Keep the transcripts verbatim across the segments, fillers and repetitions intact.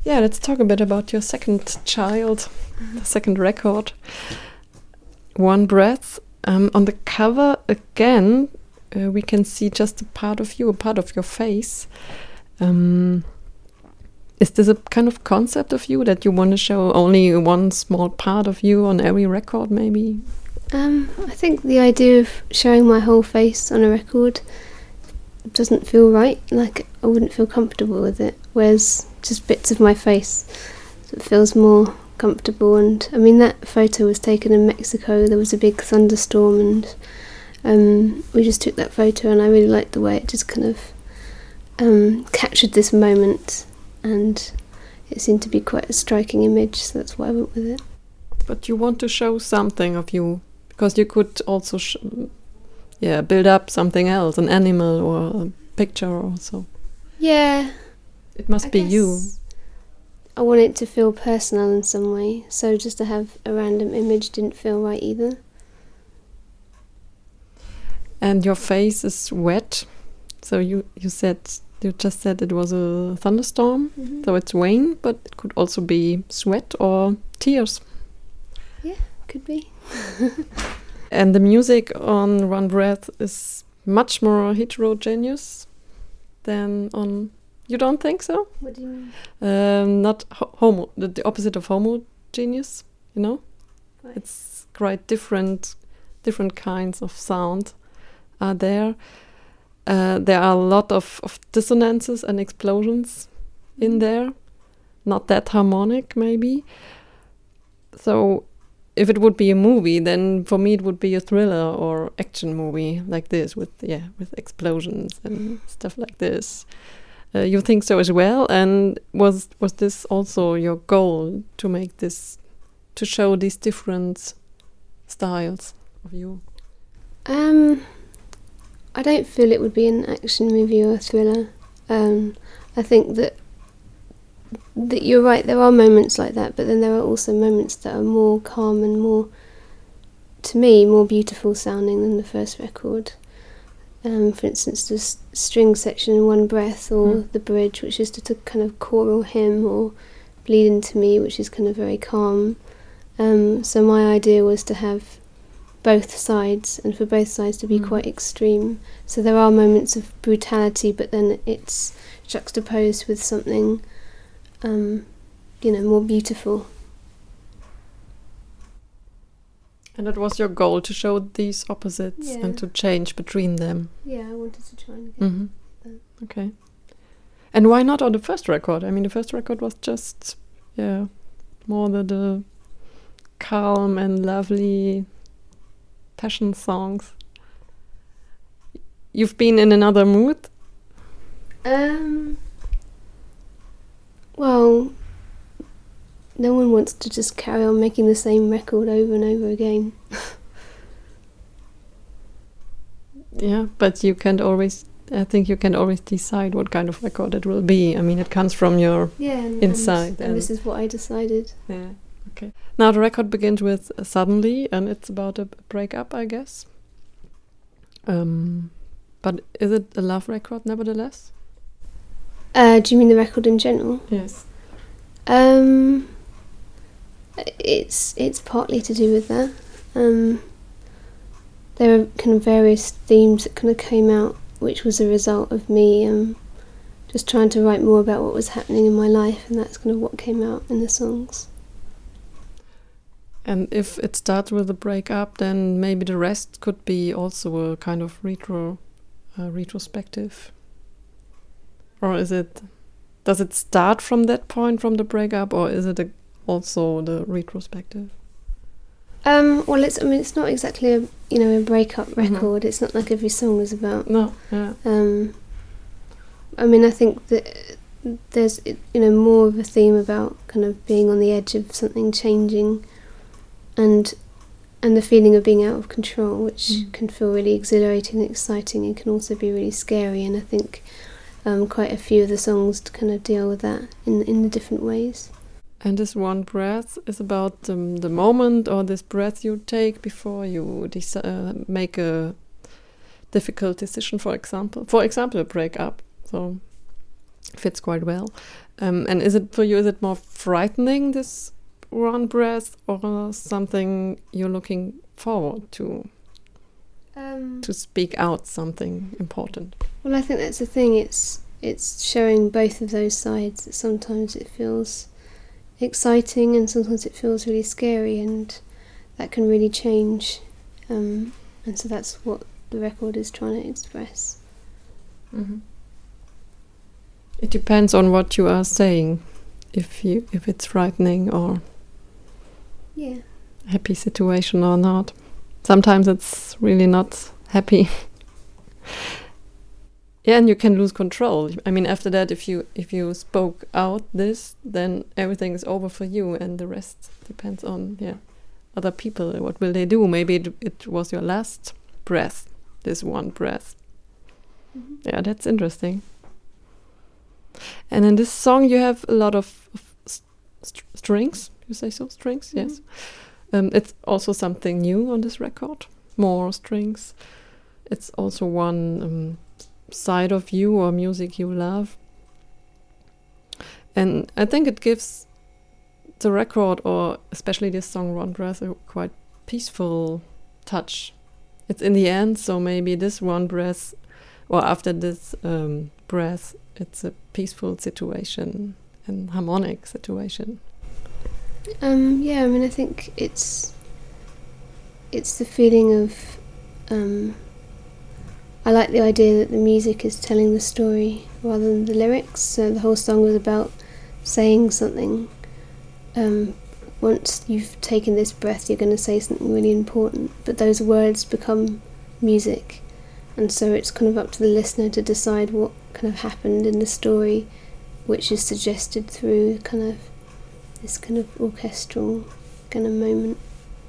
Yeah, let's talk a bit about your second child, the second record, One Breath. Um, on the cover, again, uh, we can see just a part of you, a part of your face. Um, is this a kind of concept of you that you want to show only one small part of you on every record, maybe? Um, I think the idea of showing my whole face on a record doesn't feel right. Like, I wouldn't feel comfortable with it, whereas just bits of my face, it feels more comfortable. And I mean, that photo was taken in Mexico. There was a big thunderstorm, and um, we just took that photo, and I really liked the way it just kind of um, captured this moment, and it seemed to be quite a striking image, so that's why I went with it. But you want to show something of you, because you could also sh yeah, build up something else, an animal or a picture or so. Yeah. It must I be you. I want it to feel personal in some way, so just to have a random image didn't feel right either. And your face is wet, so you, you said, you just said it was a thunderstorm, mm-hmm. So it's rain, but it could also be sweat or tears. Yeah, could be. And the music on One Breath is much more heterogeneous than on... You don't think so? What do you mean? Um, not ho homo, the, the opposite of homogeneous, you know? Right. It's quite different, different kinds of sound are there. Uh, there are a lot of, of dissonances and explosions mm-hmm. in there. Not that harmonic, maybe. So... if it would be a movie, then for me it would be a thriller or action movie like this, with yeah, with explosions and stuff like this. Uh, you think so as well? And was was this also your goal, to make this, to show these different styles of you? Um, I don't feel it would be an action movie or a thriller. Um, I think that. That you're right, there are moments like that, but then there are also moments that are more calm and more, to me, more beautiful sounding than the first record. Um, for instance, the s string section in One Breath, or mm. the bridge, which is just a kind of choral hymn, or Bleed Into Me, which is kind of very calm. Um, so my idea was to have both sides, and for both sides to be mm. quite extreme. So there are moments of brutality, but then it's juxtaposed with something Um, you know, more beautiful. And it was your goal to show these opposites yeah. and to change between them? Yeah, I wanted to try and get mm-hmm. that. Okay. And why not on the first record? I mean, the first record was just, yeah, more the, the calm and lovely passion songs. You've been in another mood? Um... Well, no one wants to just carry on making the same record over and over again. Yeah, but you can't always, I think you can always decide what kind of record it will be. I mean, it comes from your yeah, and, inside. And, and this is what I decided. Yeah, okay. Now the record begins with uh, Suddenly, and it's about a breakup, I guess. Um, but is it a love record nevertheless? Uh, do you mean the record in general? Yes. Um, it's it's partly to do with that. Um, there are kind of various themes that kind of came out, which was a result of me um, just trying to write more about what was happening in my life, and that's kind of what came out in the songs. And if it starts with a breakup, then maybe the rest could be also a kind of retro, uh, retrospective. Or is it, does it start from that point, from the breakup, or is it a, also the retrospective? Um, well, it's I mean, it's not exactly a you know a breakup record. Mm-hmm. It's not like every song is about. No. Yeah. Um, I mean, I think that there's you know more of a theme about kind of being on the edge of something changing, and and the feeling of being out of control, which mm. can feel really exhilarating and exciting, and can also be really scary. And I think. Um, quite a few of the songs to kind of deal with that in in the different ways. And this One Breath is about um, the moment, or this breath you take before you uh, make a difficult decision, for example. For example, a breakup. So fits quite well. Um, and is it for you? Is it more frightening, this one breath, or something you're looking forward to? Um, to speak out something important. Well, I think that's the thing. It's it's showing both of those sides. That sometimes it feels exciting, and sometimes it feels really scary, and that can really change. Um, and so that's what the record is trying to express. Mm-hmm. It depends on what you are saying, if you if it's frightening or yeah, happy situation or not. Sometimes it's really not happy. Yeah, and you can lose control. I mean, after that, if you if you spoke out this, then everything is over for you, and the rest depends on yeah other people. What will they do? Maybe it, it was your last breath, this one breath. Mm-hmm. Yeah, that's interesting. And in this song, you have a lot of, of st- strings. You say so, strings? Mm-hmm. Yes. Um, it's also something new on this record. More strings. It's also one um, side of you or music you love. And I think it gives the record, or especially this song One Breath, a quite peaceful touch. It's in the end, so maybe this one breath, or after this um, breath, it's a peaceful situation and harmonic situation. Um, yeah, I mean, I think it's it's the feeling of um, I like the idea that the music is telling the story rather than the lyrics. So the whole song was about saying something. Um, once you've taken this breath, you're going to say something really important, but those words become music, and so it's kind of up to the listener to decide what kind of happened in the story, which is suggested through kind of this kind of orchestral kind of moment.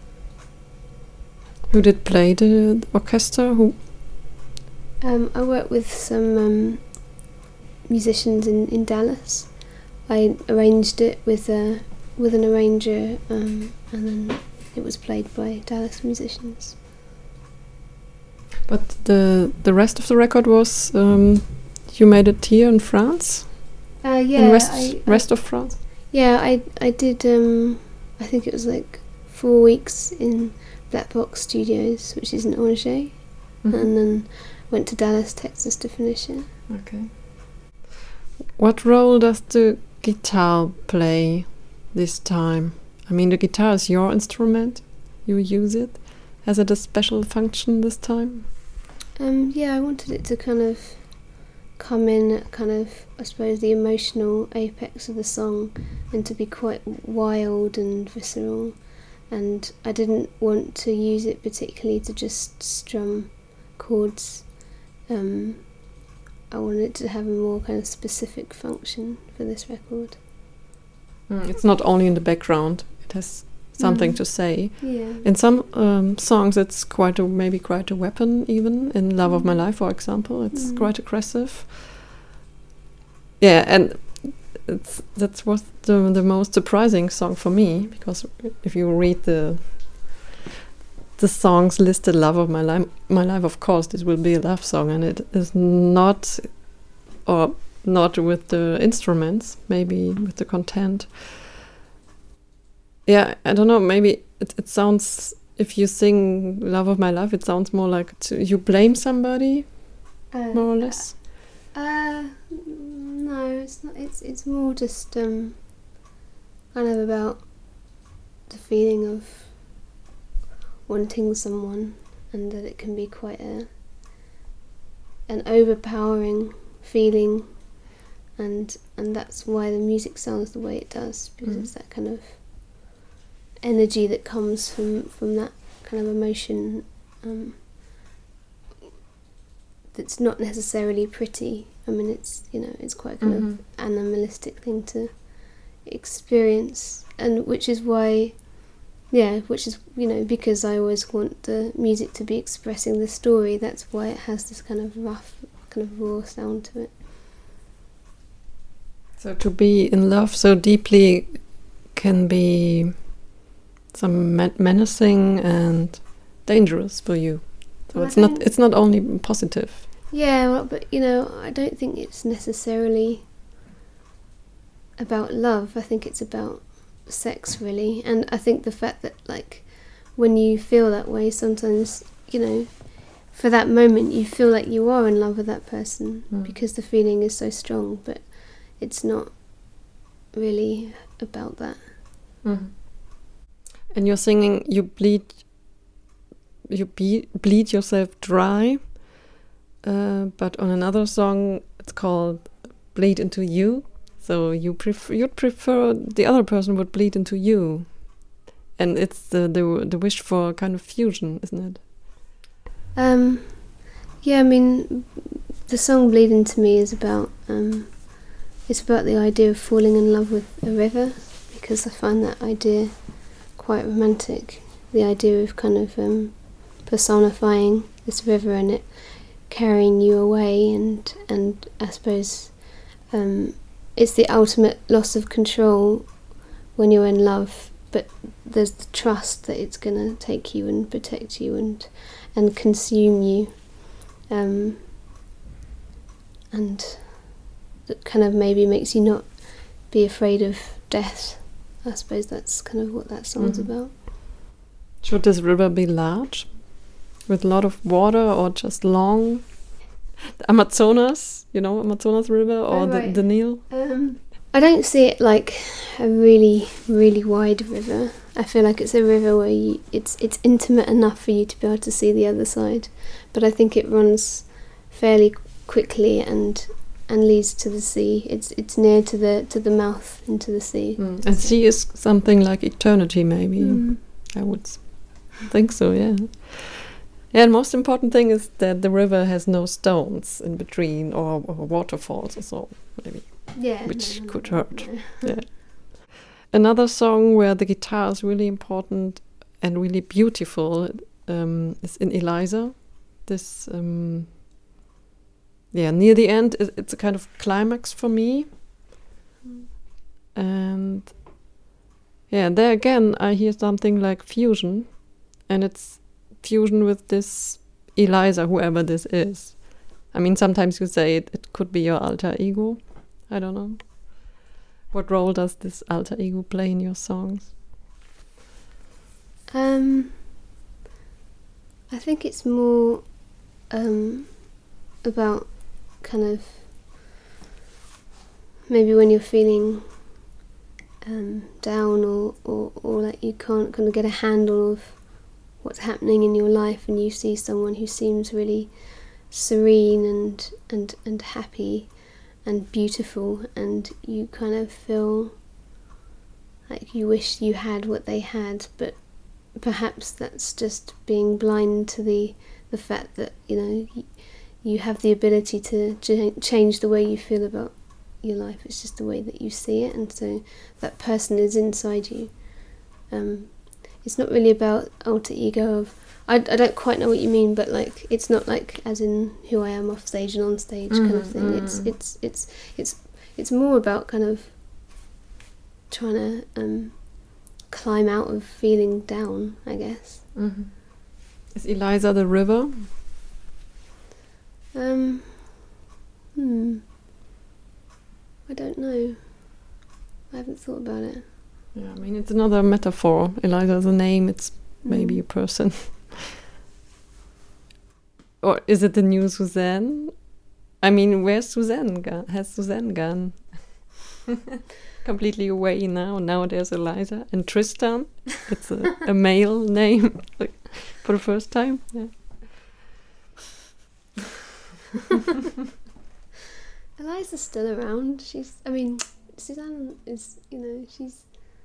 Who did play the orchestra? Who? Um, I worked with some um, musicians in, in Dallas. I arranged it with a with an arranger, um, and then it was played by Dallas musicians. But the the rest of the record was um, you made it here in France. Uh, yeah, in rest I, rest I, of France. Yeah, I I did. Um, I think it was like four weeks in Black Box Studios, which is in Angers, mm-hmm. and then went to Dallas, Texas to finish it. Okay. What role does the guitar play this time? I mean, the guitar is your instrument. You use it. Has it a special function this time? Um, yeah, I wanted it to kind of come in at kind of, I suppose, the emotional apex of the song, and to be quite wild and visceral. And I didn't want to use it particularly to just strum chords. Um, I wanted it to have a more kind of specific function for this record. Mm, it's not only in the background. It has something mm. to say. Yeah. In some um, songs, it's quite a maybe quite a weapon. Even in "Love mm. of My Life," for example, it's mm. quite aggressive. Yeah, and it's that was the the most surprising song for me, because if you read the the songs listed, "Love of My Life," my life, of course, this will be a love song, and it is not, or not with the instruments, maybe with the content. Yeah, I don't know, maybe it, it sounds, if you sing "Love of My Life," it sounds more like to, you blame somebody, uh, more or less. Uh, no, it's not. It's it's more just um, kind of about the feeling of wanting someone, and that it can be quite a an overpowering feeling, and and that's why the music sounds the way it does, because mm. it's that kind of energy that comes from from that kind of emotion. Um, It's not necessarily pretty. I mean, it's, you know, it's quite a kind mm-hmm. of animalistic thing to experience, and which is why, yeah, which is, you know, because I always want the music to be expressing the story. That's why it has this kind of rough, kind of raw sound to it. So to be in love so deeply can be some men- menacing and dangerous for you. So well, it's not it's not only positive. Yeah, well, but you know, I don't think it's necessarily about love. I think it's about sex, really. And I think the fact that, like, when you feel that way, sometimes, you know, for that moment you feel like you are in love with that person mm. because the feeling is so strong, but it's not really about that. Mm. And you're singing, you bleed, you be, bleed yourself dry, uh, but on another song it's called Bleed Into You. So you prefer, you'd prefer the other person would bleed into you, and it's the the the wish for kind of fusion, isn't it? Um, yeah, I mean, the song "Bleed Into Me" is about um, it's about the idea of falling in love with a river, because I find that idea quite romantic. The idea of kind of um, personifying this river and it carrying you away, and and I suppose. Um, It's the ultimate loss of control when you're in love, but there's the trust that it's going to take you and protect you and and consume you, um, and that kind of maybe makes you not be afraid of death. I suppose that's kind of what that song's mm-hmm. about. Should this river be large, with a lot of water, or just long? The Amazonas, you know, Amazonas River, or oh, right. the, the Nile? Um, I don't see it like a really, really wide river. I feel like it's a river where you, it's it's intimate enough for you to be able to see the other side, but I think it runs fairly quickly and and leads to the sea. It's it's near to the to the mouth into the sea. Mm. And sea is something like eternity, maybe. Mm. I would think so, yeah. Yeah, and most important thing is that the river has no stones in between, or, or waterfalls or so, maybe. Yeah, which no, no, could no, hurt. No. Yeah. Another song where the guitar is really important and really beautiful um, is in Eliza. This, um, yeah, near the end, it's a kind of climax for me. Mm. And yeah, there again, I hear something like fusion, and it's fusion with this Eliza, whoever this is. I mean, sometimes you say it, it could be your alter ego. I don't know. What role does this alter ego play in your songs? Um, I think it's more um, about kind of maybe when you're feeling um, down or, or, or like you can't kind of get a handle of what's happening in your life, and you see someone who seems really serene and and and happy and beautiful, and you kind of feel like you wish you had what they had, but perhaps that's just being blind to the the fact that, you know, you, you have the ability to ch- change the way you feel about your life. It's just the way that you see it, and so that person is inside you. Um, it's not really about alter ego of, I, I don't quite know what you mean, but like it's not like as in who I am off stage and on stage mm-hmm, kind of thing. Mm-hmm. It's it's it's it's it's more about kind of trying to um, climb out of feeling down, I guess. Mm-hmm. Is Eliza the river? Um, hmm. I don't know. I haven't thought about it. Yeah, I mean, it's another metaphor. Eliza is a name, it's mm. maybe a person. Or is it the new Suzanne? I mean, where's Suzanne gone? Has Suzanne gone? Completely away now. Now there's Eliza. And Tristan, it's a, a male name, like, for the first time. Yeah. Eliza's still around. She's, I mean, Suzanne is, you know, she's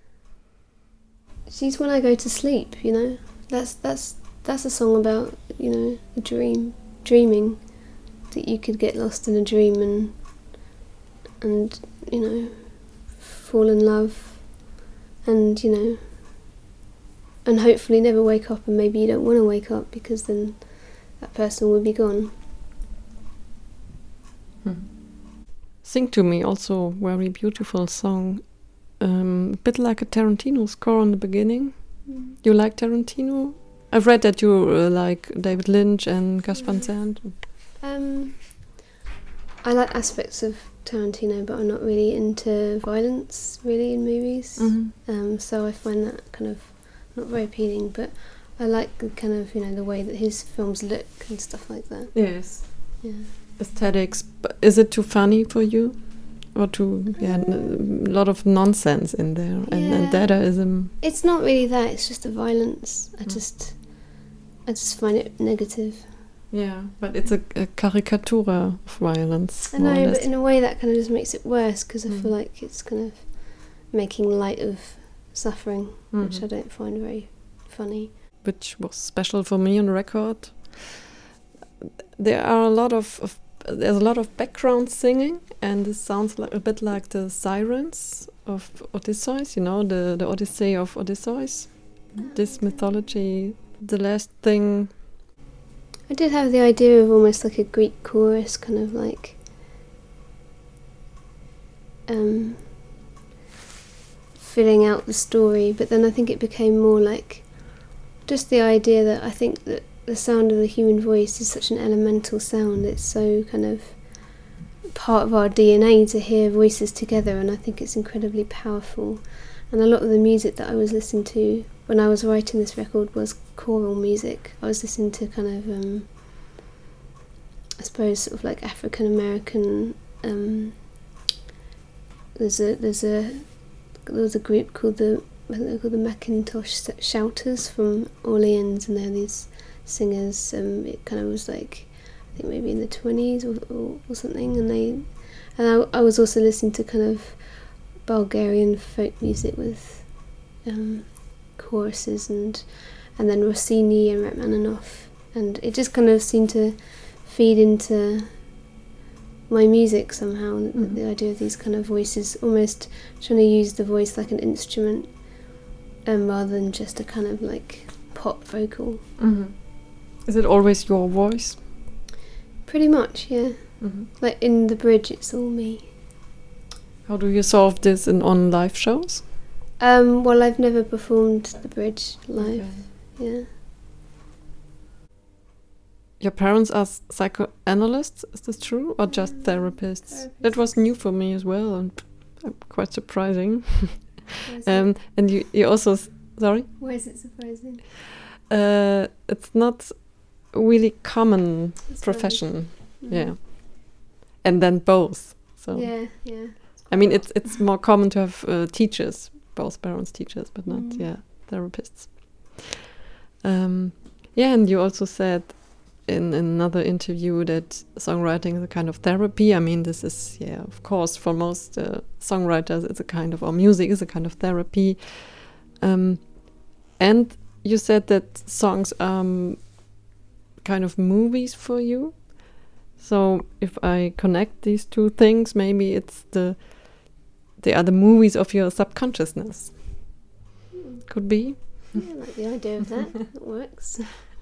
she's when I go to sleep, you know. That's that's that's a song about, you know, a dream, dreaming, that you could get lost in a dream and and you know, fall in love, and you know, and hopefully never wake up, and maybe you don't want to wake up because then that person will be gone. Hmm. Sing to Me, also very beautiful song. Um, a bit like a Tarantino score on the beginning. Mm. You like Tarantino? I've read that you uh, like David Lynch and Gus Van Sant. Um, I like aspects of Tarantino, but I'm not really into violence really in movies. Mm-hmm. Um, so I find that kind of not very appealing. But I like the kind of, you know, the way that his films look and stuff like that. Yes. Yeah. Aesthetics. But is it too funny for you? Or too, yeah, a lot of nonsense in there, and, Yeah. and Dadaism. It's not really that. It's just the violence. I Mm. just, I just find it negative. Yeah, but it's a, a caricature of violence. I more or know, less. but in a way that kind of just makes it worse because I Mm. feel like it's kind of making light of suffering, which Mhm. I don't find very funny. Which was special for me on record. There are a lot of, of there's a lot of background singing, and this sounds like a bit like the sirens of Odysseus. You know, the the Odyssey of Odysseus. This mythology. The last thing. I did have the idea of almost like a Greek chorus, kind of like um, filling out the story, but then I think it became more like just the idea that I think that the sound of the human voice is such an elemental sound. It's so kind of part of our D N A to hear voices together, and I think it's incredibly powerful. And a lot of the music that I was listening to when I was writing this record was choral music. I was listening to kind of, um, I suppose, sort of like African American. Um, there's a there's a there was a group called the I think they're called the Macintosh Shouters from Orleans, and they're these singers. Um, it kind of was like I think maybe in the twenties or, or, or something, and they and I, I was also listening to kind of Bulgarian folk music with um, choruses and and then Rossini and Rachmaninoff, and it just kind of seemed to feed into my music somehow. Mm-hmm. the, the idea of these kind of voices, almost trying to use the voice like an instrument, um, rather than just a kind of like pop vocal. Mm-hmm. Is it always your voice? Pretty much, yeah. Mm-hmm. Like in the bridge, it's all me. How do you solve this in on live shows? Um, well, I've never performed the bridge live. Okay. Yeah. Your parents are psychoanalysts, is this true? Or just Mm, therapists? therapists. That was new for me as well, and uh, quite surprising. um, and you, you also, s- sorry? Why is it surprising? Uh, it's not a really common That's profession, right. yeah. Mm. And then both, so. Yeah, yeah. I mean, it's it's more common to have uh, teachers, both parents teachers, but not, Mm. yeah, therapists. Um, yeah, and you also said in another interview that songwriting is a kind of therapy. I mean, this is, yeah, of course, for most uh, songwriters, it's a kind of, or music is a kind of therapy. Um, and you said that songs are um, kind of movies for you. So if I connect these two things, maybe it's the they are the movies of your subconsciousness. Mm. Could be. Yeah, I like the idea of that. It works.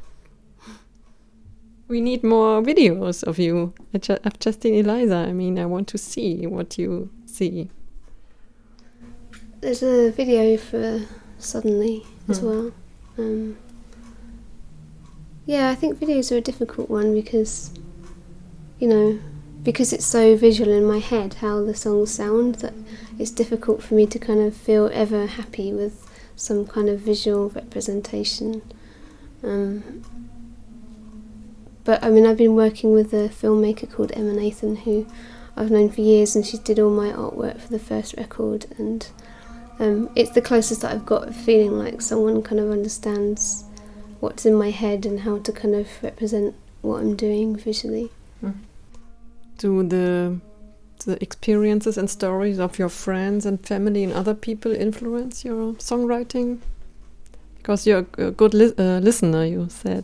We need more videos of you. I ju- I've just seen Eliza. I mean, I want to see what you see. There's a video for Suddenly as Hmm. well. Um, yeah, I think videos are a difficult one because, you know, because it's so visual in my head how the songs sound, that it's difficult for me to kind of feel ever happy with some kind of visual representation. Um, but I mean, I've been working with a filmmaker called Emma Nathan, who I've known for years, and she did all my artwork for the first record, and um, it's the closest that I've got of feeling like someone kind of understands what's in my head and how to kind of represent what I'm doing visually. Mm. Do the the experiences and stories of your friends and family and other people influence your songwriting? Because you're a a good li- uh, listener, you said.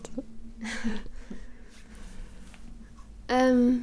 Um,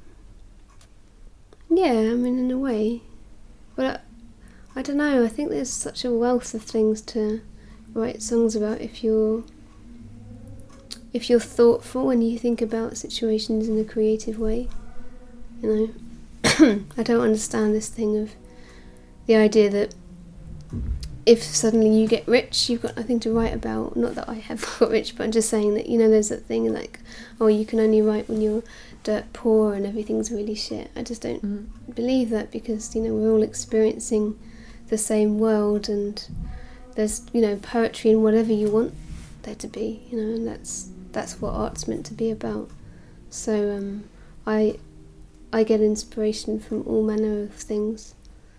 yeah, I mean, in a way. But I, I don't know, I think there's such a wealth of things to write songs about if you're if you're thoughtful and you think about situations in a creative way. You know, I don't understand this thing of the idea that if suddenly you get rich, you've got nothing to write about. Not that I have got rich, but I'm just saying that, you know, there's that thing like, oh, you can only write when you're dirt poor and everything's really shit. I just don't mm. believe that, because, you know, we're all experiencing the same world, and there's, you know, poetry in whatever you want there to be, you know, and that's that's what art's meant to be about. So um, I I get inspiration from all manner of things.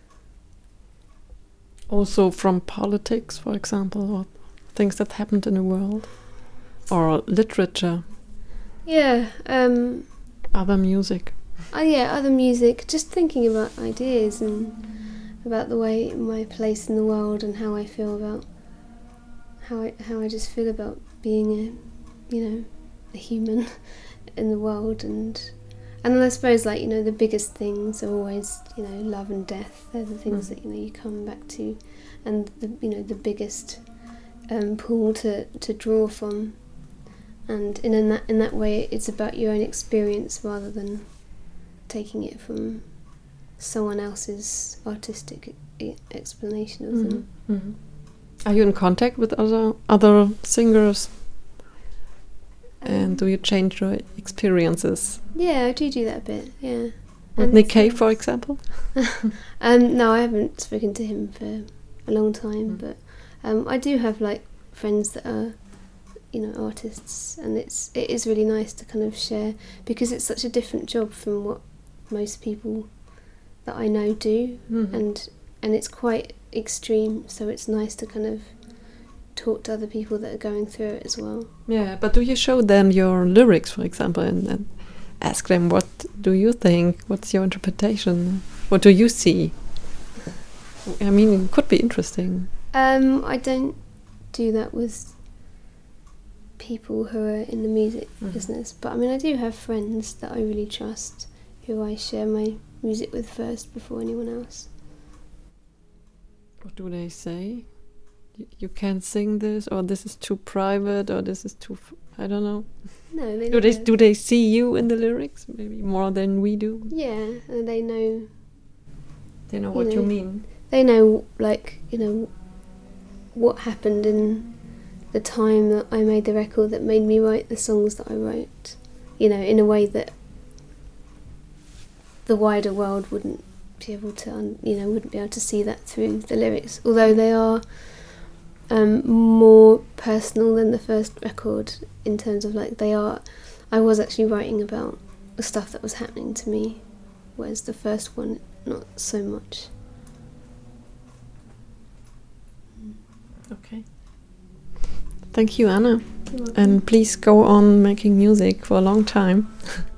Also from politics, for example, or things that happened in the world, or literature. Yeah. Um, other music. Oh yeah, other music. Just thinking about ideas and about the way my place in the world and how I feel about how I how I just feel about being a, you know, a human in the world, and and then I suppose, like, you know, the biggest things are always, you know, love and death. They're the things mm. that, you know, you come back to, and the, you know, the biggest um, pool to, to draw from. And in, in that in that way, it's about your own experience rather than taking it from someone else's artistic e- explanation of mm-hmm. them. Mm-hmm. Are you in contact with other other singers? And do you change your experiences? Yeah, I do do that a bit, yeah. With and Nick Cave, for example? um, no, I haven't spoken to him for a long time, mm. but um, I do have, like, friends that are, you know, artists, and it's it is really nice to kind of share, because it's such a different job from what most people that I know do, mm-hmm. and and it's quite extreme, so it's nice to kind of talk to other people that are going through it as well. Yeah, but do you show them your lyrics, for example, and, and ask them, what do you think? What's your interpretation? What do you see? I mean, it could be interesting. Um, I don't do that with people who are in the music mm. business, but I mean, I do have friends that I really trust, who I share my music with first before anyone else. What do they say? You can't sing this, or this is too private, or this is too f- I don't know. No, they do they do they see you in the lyrics maybe more than we do? Yeah, and they know. They know what you, know, you mean. They know, like, you know, what happened in the time that I made the record that made me write the songs that I wrote. You know, in a way that the wider world wouldn't be able to, un- you know, wouldn't be able to see that through the lyrics, although they are. Um, more personal than the first record, in terms of, like, they are, I was actually writing about the stuff that was happening to me, whereas the first one, not so much. Okay. Thank you, Anna. And please go on making music for a long time.